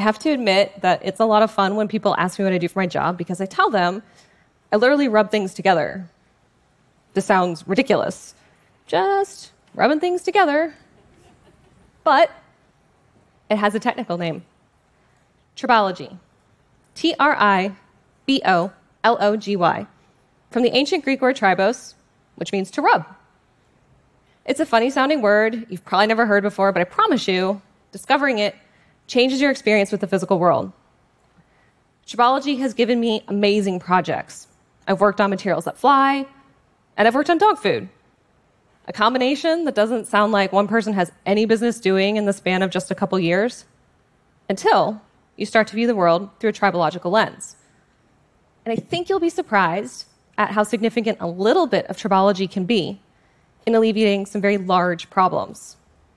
have to admit that it's a lot of fun when people ask me what I do for my job because I tell them I literally rub things together. This sounds ridiculous. Just rubbing things together. But it has a technical name. Tribology. Tribollogy. From the ancient Greek word tribos, which means to rub. It's a funny sounding word you've probably never heard before, but I promise you, discovering it changes your experience with the physical world. Tribology has given me amazing projects. I've worked on materials that fly, and I've worked on dog food. A combination that doesn't sound like one person has any business doing in the span of just a couple years, until you start to view the world through a tribological lens. And I think you'll be surprised at how significant a little bit of tribology can be in alleviating some very large problems.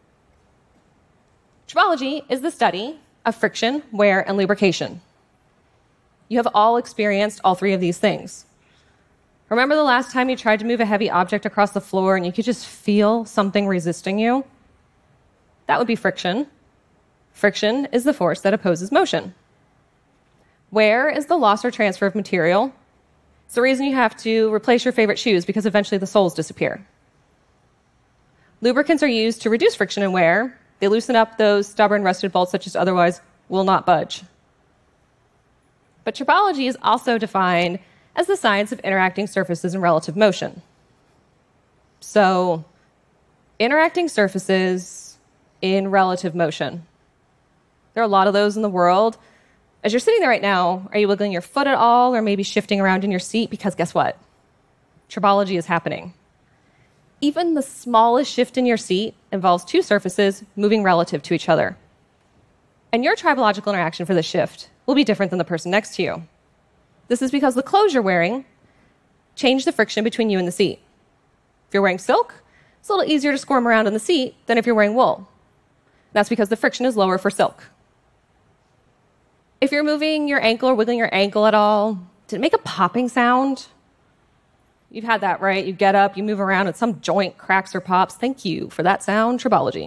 Tribology is the study of friction, wear, and lubrication. You have all experienced all three of these things. Remember the last time you tried to move a heavy object across the floor and you could just feel something resisting you? That would be friction. Friction is the force that opposes motion. Wear is the loss or transfer of material. It's the reason you have to replace your favorite shoes because eventually the soles disappear. Lubricants are used to reduce friction and wear. They loosen up those stubborn, rusted bolts that just otherwise will not budge. But tribology is also defined as the science of interacting surfaces in relative motion. So, interacting surfaces in relative motion. There are a lot of those in the world. As you're sitting there right now, are you wiggling your foot at all or maybe shifting around in your seat? Because guess what? Tribology is happening. Even the smallest shift in your seat involves two surfaces moving relative to each other. And your tribological interaction for this shift will be different than the person next to you. This is because the clothes you're wearing change the friction between you and the seat. If you're wearing silk, it's a little easier to squirm around in the seat than if you're wearing wool. That's because the friction is lower for silk. If you're moving your ankle or wiggling your ankle at all, did it make a popping sound? You've had that, right? You get up, you move around, and some joint cracks or pops. Thank you for that sound, tribology.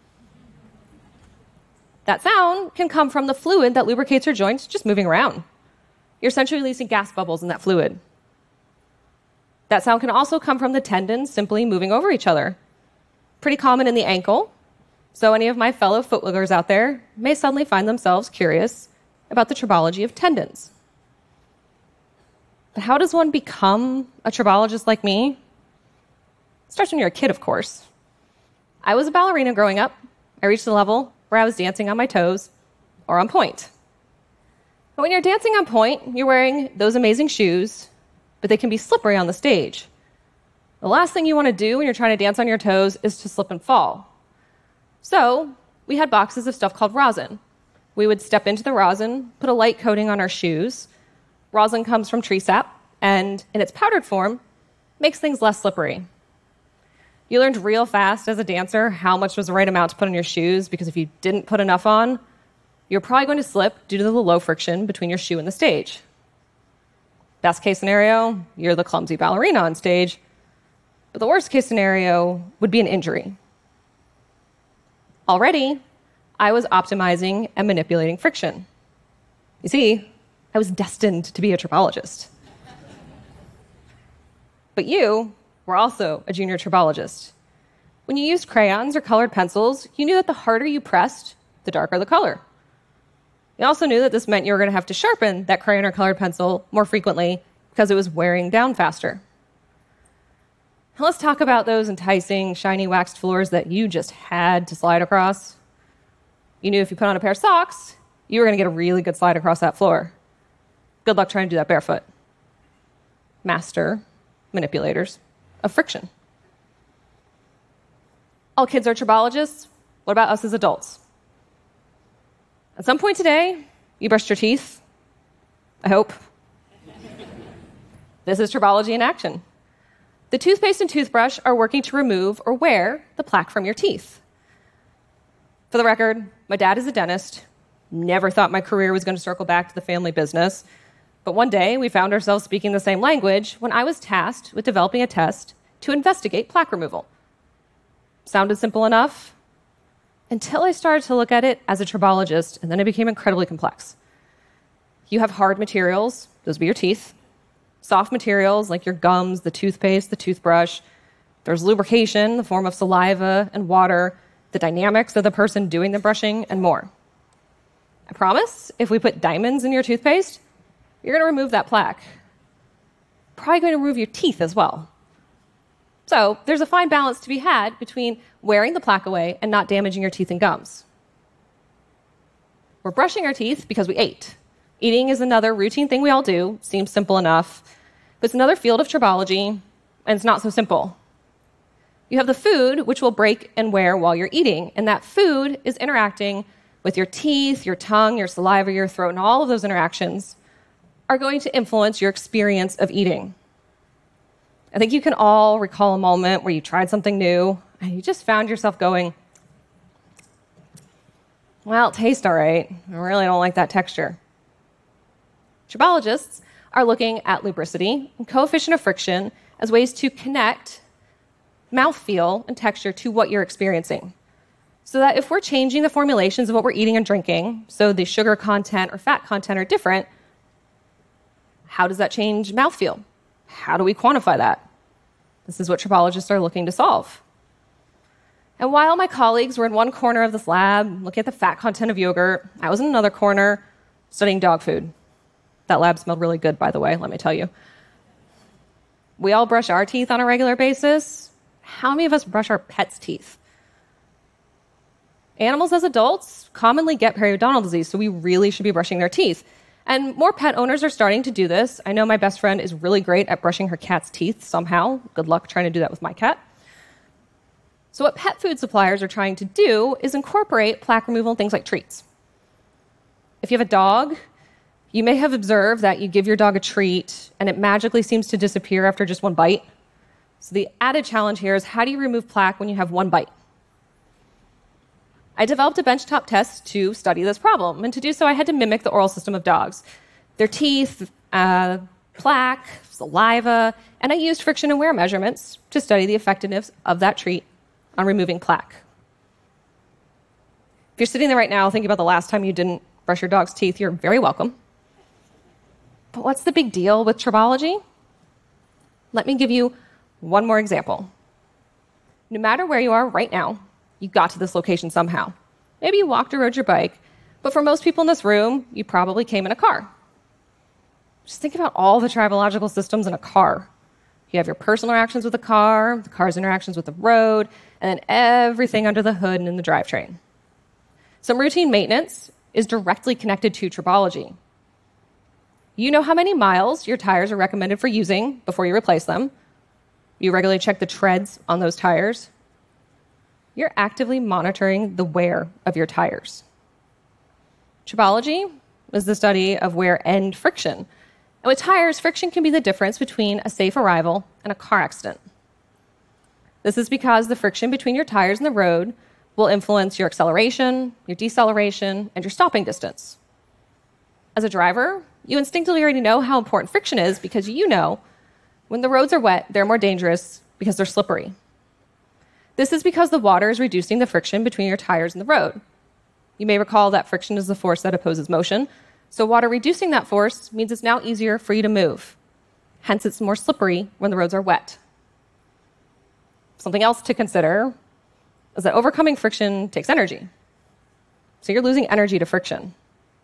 That sound can come from the fluid that lubricates your joints just moving around. You're essentially releasing gas bubbles in that fluid. That sound can also come from the tendons simply moving over each other. Pretty common in the ankle, so any of my fellow foot wigglers out there may suddenly find themselves curious about the tribology of tendons. But how does one become a tribologist like me? It starts when you're a kid, of course. I was a ballerina growing up. I reached the level where I was dancing on my toes or on point. But when you're dancing on point, you're wearing those amazing shoes, but they can be slippery on the stage. The last thing you want to do when you're trying to dance on your toes is to slip and fall. So we had boxes of stuff called rosin. We would step into the rosin, put a light coating on our shoes. Rosin comes from tree sap, and in its powdered form, makes things less slippery. You learned real fast as a dancer how much was the right amount to put on your shoes, because if you didn't put enough on, you're probably going to slip due to the low friction between your shoe and the stage. Best case scenario, you're the clumsy ballerina on stage. But the worst case scenario would be an injury. Already, I was optimizing and manipulating friction. You see, I was destined to be a tribologist. But you were also a junior tribologist. When you used crayons or colored pencils, you knew that the harder you pressed, the darker the color. You also knew that this meant you were going to have to sharpen that crayon or colored pencil more frequently because it was wearing down faster. Now let's talk about those enticing, shiny waxed floors that you just had to slide across. You knew if you put on a pair of socks, you were going to get a really good slide across that floor. Good luck trying to do that barefoot. Master manipulators of friction. All kids are tribologists. What about us as adults? At some point today, you brushed your teeth. I hope. This is tribology in action. The toothpaste and toothbrush are working to remove or wear the plaque from your teeth. For the record, my dad is a dentist. Never thought my career was going to circle back to the family business. But one day, we found ourselves speaking the same language when I was tasked with developing a test to investigate plaque removal. Sounded simple enough, until I started to look at it as a tribologist, and then it became incredibly complex. You have hard materials, those would be your teeth, soft materials like your gums, the toothpaste, the toothbrush. There's lubrication in the form of saliva and water, the dynamics of the person doing the brushing, and more. I promise, if we put diamonds in your toothpaste, you're going to remove that plaque. Probably going to remove your teeth as well. So there's a fine balance to be had between wearing the plaque away and not damaging your teeth and gums. We're brushing our teeth because we ate. Eating is another routine thing we all do. Seems simple enough. But it's another field of tribology, and it's not so simple. You have the food, which will break and wear while you're eating, and that food is interacting with your teeth, your tongue, your saliva, your throat, and all of those interactions are going to influence your experience of eating. I think you can all recall a moment where you tried something new and you just found yourself going, well, it tastes all right. I really don't like that texture. Tribologists are looking at lubricity and coefficient of friction as ways to connect mouthfeel and texture to what you're experiencing. So that if we're changing the formulations of what we're eating and drinking, so the sugar content or fat content are different, how does that change mouthfeel? How do we quantify that? This is what tribologists are looking to solve. And while my colleagues were in one corner of this lab looking at the fat content of yogurt, I was in another corner studying dog food. That lab smelled really good, by the way, let me tell you. We all brush our teeth on a regular basis. How many of us brush our pets' teeth? Animals as adults commonly get periodontal disease, so we really should be brushing their teeth. And more pet owners are starting to do this. I know my best friend is really great at brushing her cat's teeth somehow. Good luck trying to do that with my cat. So what pet food suppliers are trying to do is incorporate plaque removal in things like treats. If you have a dog, you may have observed that you give your dog a treat and it magically seems to disappear after just one bite. So the added challenge here is how do you remove plaque when you have one bite? I developed a benchtop test to study this problem, and to do so I had to mimic the oral system of dogs. Their teeth, plaque, saliva, and I used friction and wear measurements to study the effectiveness of that treat on removing plaque. If you're sitting there right now thinking about the last time you didn't brush your dog's teeth, you're very welcome. But what's the big deal with tribology? Let me give you one more example. No matter where you are right now, you got to this location somehow. Maybe you walked or rode your bike, but for most people in this room, you probably came in a car. Just think about all the tribological systems in a car. You have your personal interactions with the car's interactions with the road, and then everything under the hood and in the drivetrain. Some routine maintenance is directly connected to tribology. You know how many miles your tires are recommended for using before you replace them. You regularly check the treads on those tires. You're actively monitoring the wear of your tires. Tribology is the study of wear and friction. And with tires, friction can be the difference between a safe arrival and a car accident. This is because the friction between your tires and the road will influence your acceleration, your deceleration, and your stopping distance. As a driver, you instinctively already know how important friction is because you know when the roads are wet, they're more dangerous because they're slippery. This is because the water is reducing the friction between your tires and the road. You may recall that friction is the force that opposes motion, so water reducing that force means it's now easier for you to move. Hence, it's more slippery when the roads are wet. Something else to consider is that overcoming friction takes energy. So you're losing energy to friction.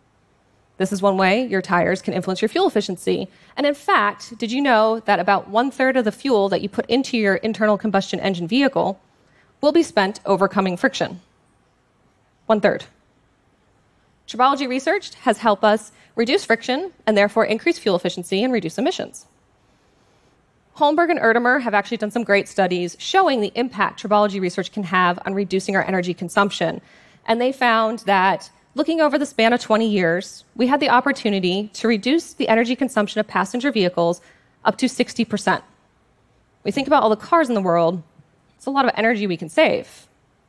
This is one way your tires can influence your fuel efficiency. And in fact, did you know that about 1/3 of the fuel that you put into your internal combustion engine vehicle will be spent overcoming friction? 1/3. Tribology research has helped us reduce friction and therefore increase fuel efficiency and reduce emissions. Holmberg and Erdemer have actually done some great studies showing the impact tribology research can have on reducing our energy consumption. And they found that looking over the span of 20 years, we had the opportunity to reduce the energy consumption of passenger vehicles up to 60%. We think about all the cars in the world, it's a lot of energy we can save.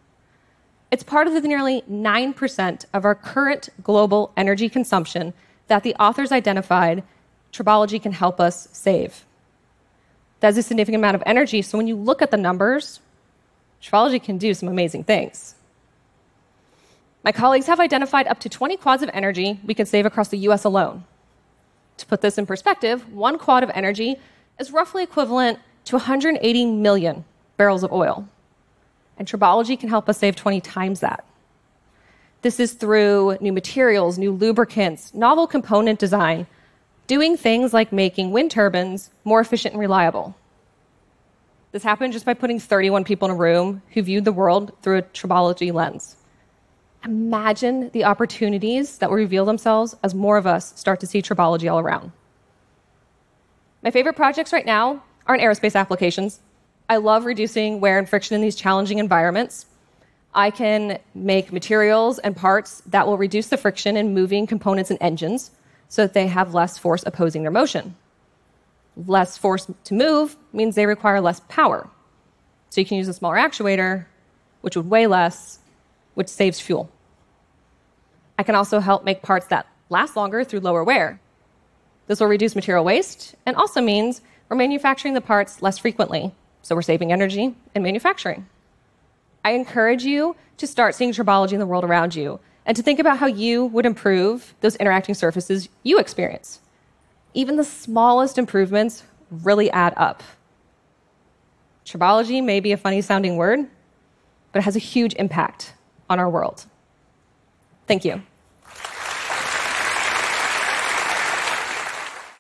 It's part of the nearly 9% of our current global energy consumption that the authors identified tribology can help us save. That's a significant amount of energy, so when you look at the numbers, tribology can do some amazing things. My colleagues have identified up to 20 quads of energy we can save across the US alone. To put this in perspective, 1 quad of energy is roughly equivalent to 180 million barrels of oil. And tribology can help us save 20 times that. This is through new materials, new lubricants, novel component design, doing things like making wind turbines more efficient and reliable. This happened just by putting 31 people in a room who viewed the world through a tribology lens. Imagine the opportunities that will reveal themselves as more of us start to see tribology all around. My favorite projects right now are in aerospace applications. I love reducing wear and friction in these challenging environments. I can make materials and parts that will reduce the friction in moving components and engines so that they have less force opposing their motion. Less force to move means they require less power. So you can use a smaller actuator, which would weigh less, which saves fuel. I can also help make parts that last longer through lower wear. This will reduce material waste and also means we're manufacturing the parts less frequently, so we're saving energy in manufacturing. I encourage you to start seeing tribology in the world around you and to think about how you would improve those interacting surfaces you experience. Even the smallest improvements really add up. Tribology may be a funny sounding word, but it has a huge impact on our world. Thank you.